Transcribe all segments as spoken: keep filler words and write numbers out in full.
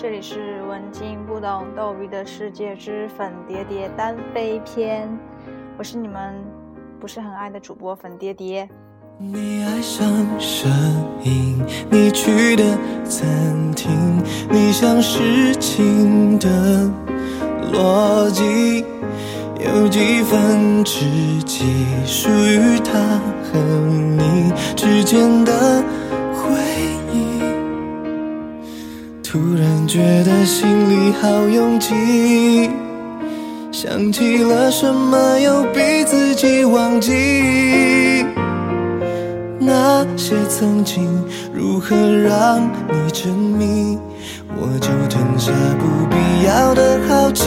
这里是文静不懂斗鱼的世界之粉蝶蝶单飞篇，我是你们不是很爱的主播粉蝶蝶。 你爱上摄影，你去的餐厅，你想事情的逻辑有几分之几属于他和你之间的回忆，突然觉得心里好拥挤，想起了什么又逼自己忘记，那些曾经如何让你沉迷，我就吞下不必要的好奇。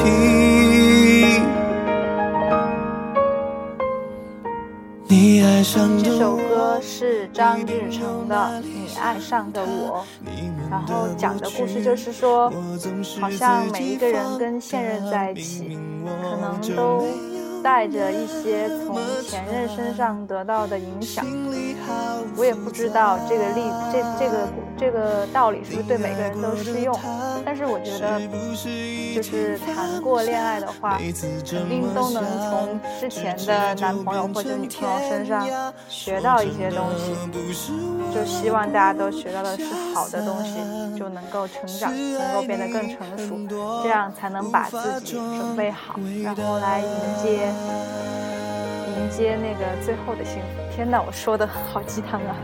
你爱上的这首歌是张日成的《你爱上的我》，然后讲的故事就是说，好像每一个人跟现任在一起，可能都带着一些从前任身上得到的影响。我也不知道这个例这这个这个道理是不是对每个人都适用，但是我觉得就是谈过恋爱的话，肯定都能从之前的男朋友或者女朋友身上学到一些东西，就希望大家都学到的是好的东西，就能够成长，能够变得更成熟，这样才能把自己准备好，然后来迎接迎接那个最后的幸福。天哪，我说的好鸡汤啊！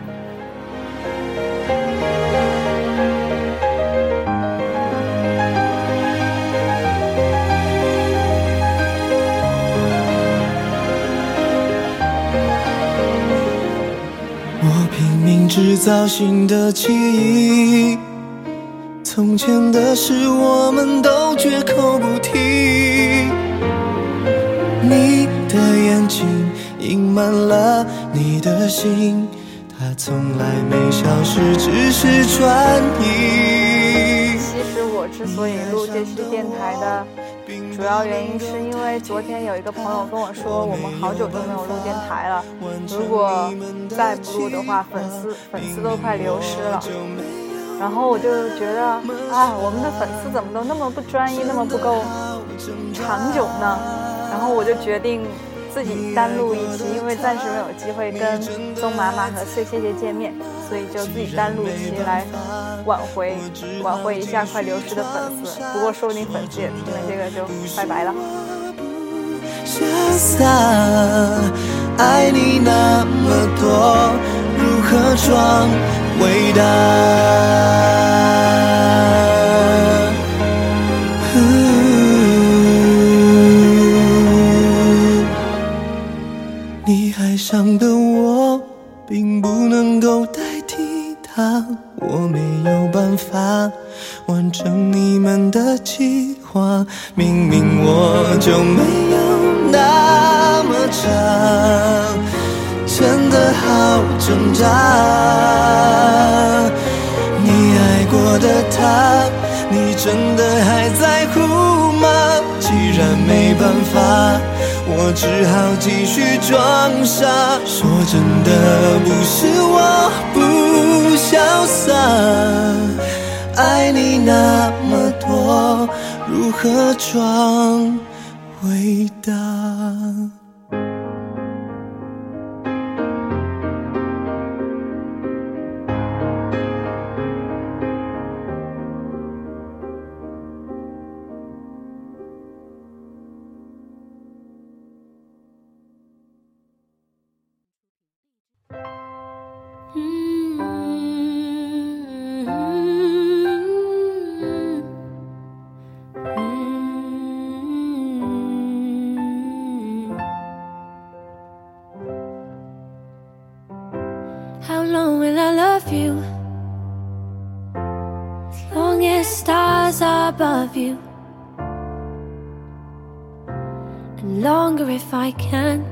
我拼命制造新的记忆，从前的事我们都绝口不提，你的眼睛隐瞒了你的心，它从来没消失，只是转移。 其实我之所以录这期电台的主要原因是因为昨天有一个朋友跟我说，我们好久都没有录电台了，如果再不录的话，粉丝粉丝都快流失了。然后我就觉得啊，我们的粉丝怎么都那么不专一，那么不够长久呢？然后我就决定自己单录一期，因为暂时没有机会跟宗妈妈和碎谢谢见面，所以就自己单录一期来挽回挽回一下快流失的粉丝。不过说不定粉丝也听了这个就拜拜了。 潇洒爱你那么多，如何装伟大？你爱上的我并不能够代替他，我没有办法完成你们的计划，明明我就没有那么差，真的好挣扎。你爱过的他，你真的还在乎吗？既然没办法，我只好继续装傻。说真的，不是我不潇洒，爱你那么多，如何装伟大？ How long will I love you? As long as stars are above you, and longer if I can.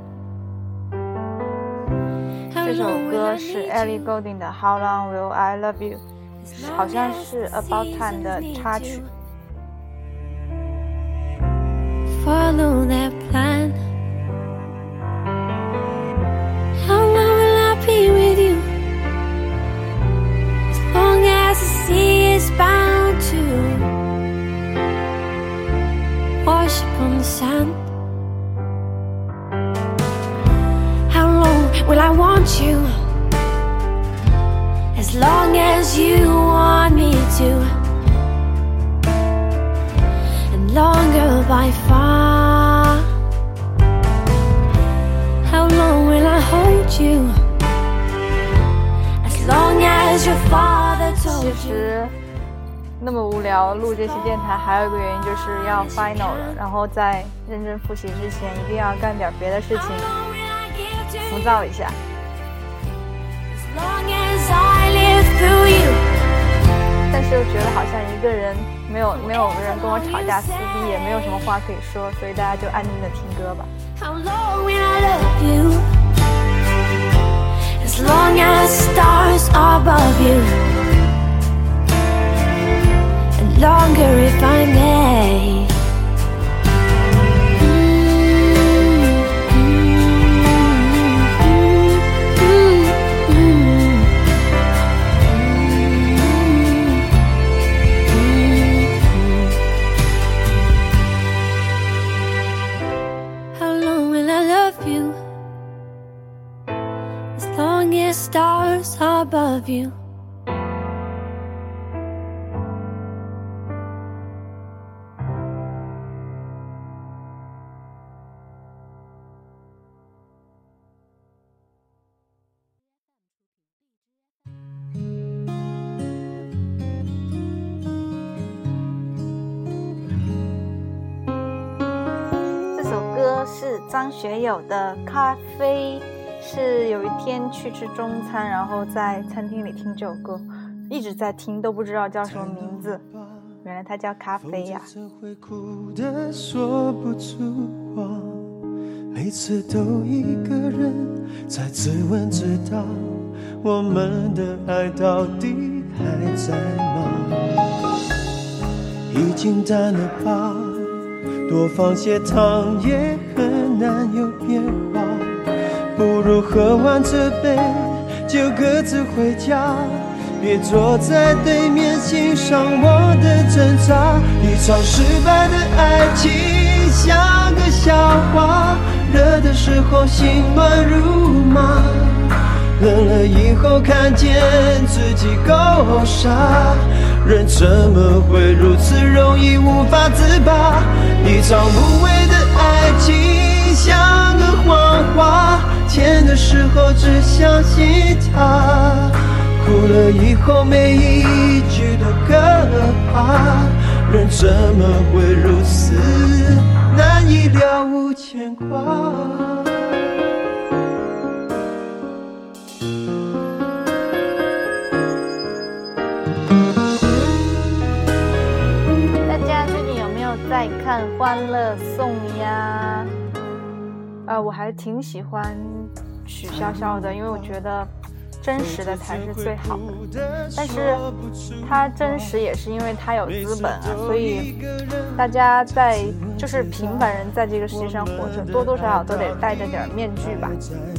这首歌是 Ellie Goulding 的 How Long Will I Love You， 好像是 About Time 的插曲。 Follow that plan. How long will I be with you? As long as the sea is bound to worship on the sand. How long will I want you? As long as you want me to, and longer by far. How long will I hold you? As long as your father 其 told you. 实那么无聊，录这期电台还有一个原因就是要 final 了，然后在认真复习之前一定要干点别的事情，浮躁一下。 As long as I live through you. 但是又觉得好像一个人没有没有人跟我吵架撕逼，也没有什么话可以说，所以大家就安静的听歌吧。 How long will I love you? As long as stars are above you, and longer if I may. How long will I love you? As long as stars are above you. 歌是张学友的《咖啡》，是有一天去吃中餐，然后在餐厅里听这首歌，一直在听，都不知道叫什么名字，原来它叫咖啡呀、 啊。说不出话，每次都一个人在自问自答，我们的爱到底还在吗？已经淡了吧，多放些糖也很难有变化，不如喝完这杯就各自回家，别坐在对面欣赏我的挣扎。一场失败的爱情像个笑话，热的时候心乱如麻，冷了以后看见自己够傻，人怎么会如此容易无法自拔？一场无谓的爱情像个谎话，甜的时候只相信它，哭了以后每一句都可怕，人怎么会如此难以了无牵挂？ 在看《欢乐颂》呀，呃，我还挺喜欢许潇潇的，因为我觉得真实的才是最好的。但是他真实也是因为他有资本啊，所以大家在就是平凡人在这个世界上活着，多多少少都得戴着点面具吧。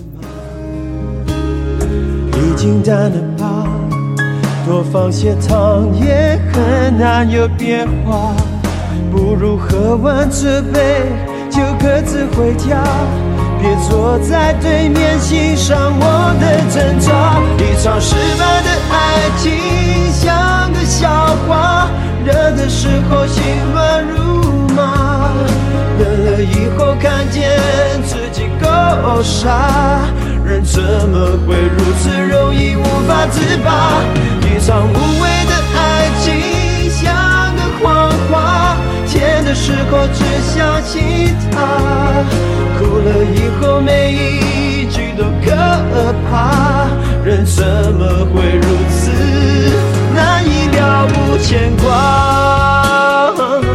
已经淡了吧，多放些糖也很难有变化，不如喝完这杯就各自回家，别坐在对面欣赏我的挣扎。一场失败的爱情像个笑话，热的时候心乱如麻，冷了以后看见自己够傻，人怎么会如此容易无法自拔？一场无谓的爱情像个谎话，甜的时候只相信它，哭了以后每一句都可怕，人怎么会如此难以了无牵挂？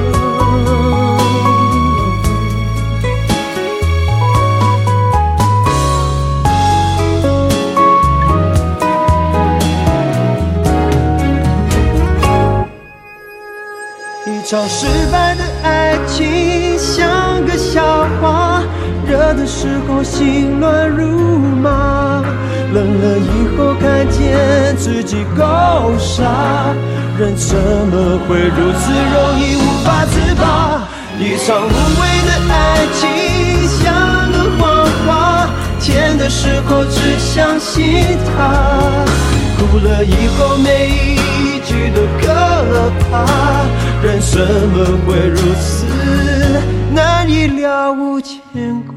一场失败的爱情像个笑话，热的时候心乱如麻，冷了以后看见自己够傻，人怎么会如此容易无法自拔？ 一场无谓的爱情像个谎话，甜的时候只相信它，哭了以后每一句都可怕，人怎么会如此难以了无牵挂。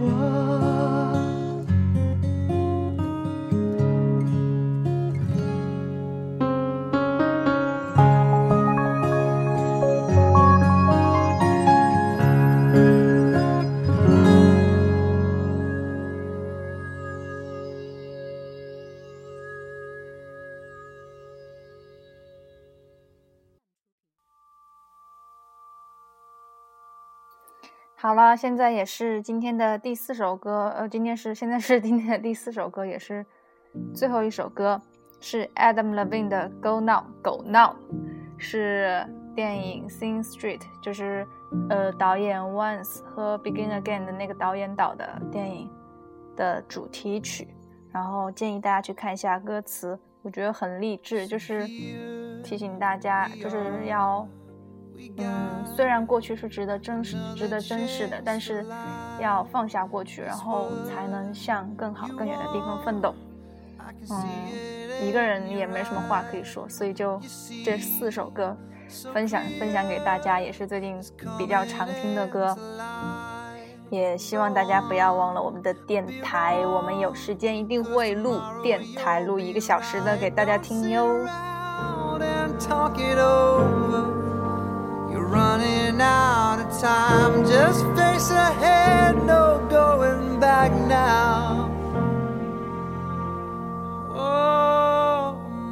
好了，现在也是今天的第四首歌，呃，今天是现在是今天的第四首歌，也是最后一首歌，是 Adam Levine 的 Go Now Go Now， 是电影 Sing Street， 就是呃导演 Once 和 Begin Again 的那个导演导的电影的主题曲，然后建议大家去看一下歌词，我觉得很励志，就是提醒大家就是要嗯，虽然过去是值得珍视、值得珍视的，但是要放下过去，然后才能向更好、更远的地方奋斗。嗯，一个人也没什么话可以说，所以就这四首歌分享分享给大家，也是最近比较常听的歌。也希望大家不要忘了我们的电台，我们有时间一定会录电台，录一个小时的给大家听哟。Running out of time, just face ahead, no going back now. Oh,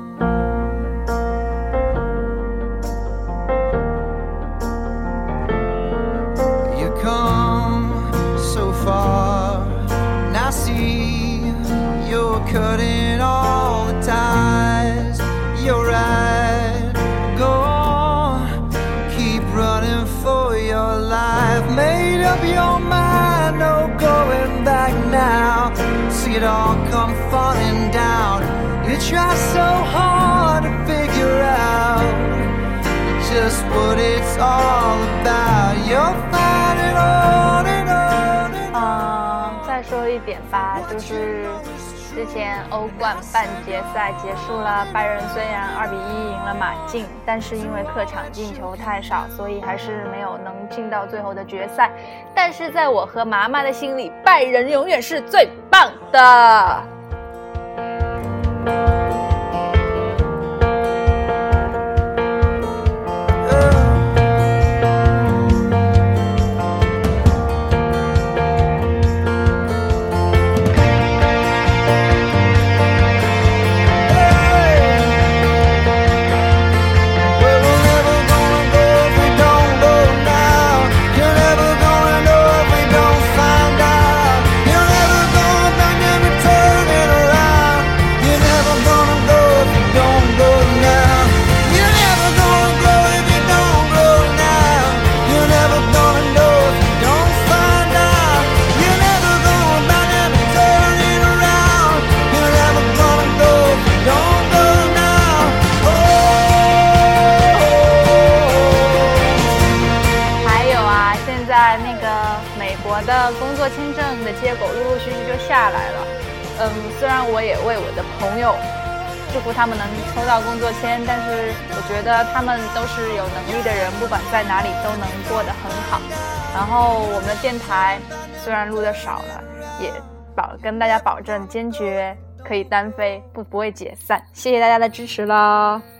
you come so far, now see you're cutting all the ties. You're right, go on, keep running for your life. Made up your mind, no going back now. See it all come falling down. You try so hard to figure out just what it's all about. You'll find it on and on and on. 嗯，再说一点吧，就是之前欧冠半决赛结束了，拜仁虽然二比一赢了马竞，但是因为客场进球太少，所以还是没有能进到最后的决赛。但是在我和妈妈的心里，拜仁永远是最棒的。我的工作签证的结果陆陆续续就下来了，嗯，虽然我也为我的朋友祝福他们能抽到工作签，但是我觉得他们都是有能力的人，不管在哪里都能过得很好。然后我们的电台虽然录的少了，也保跟大家保证坚决可以单飞，不不会解散。谢谢大家的支持啦。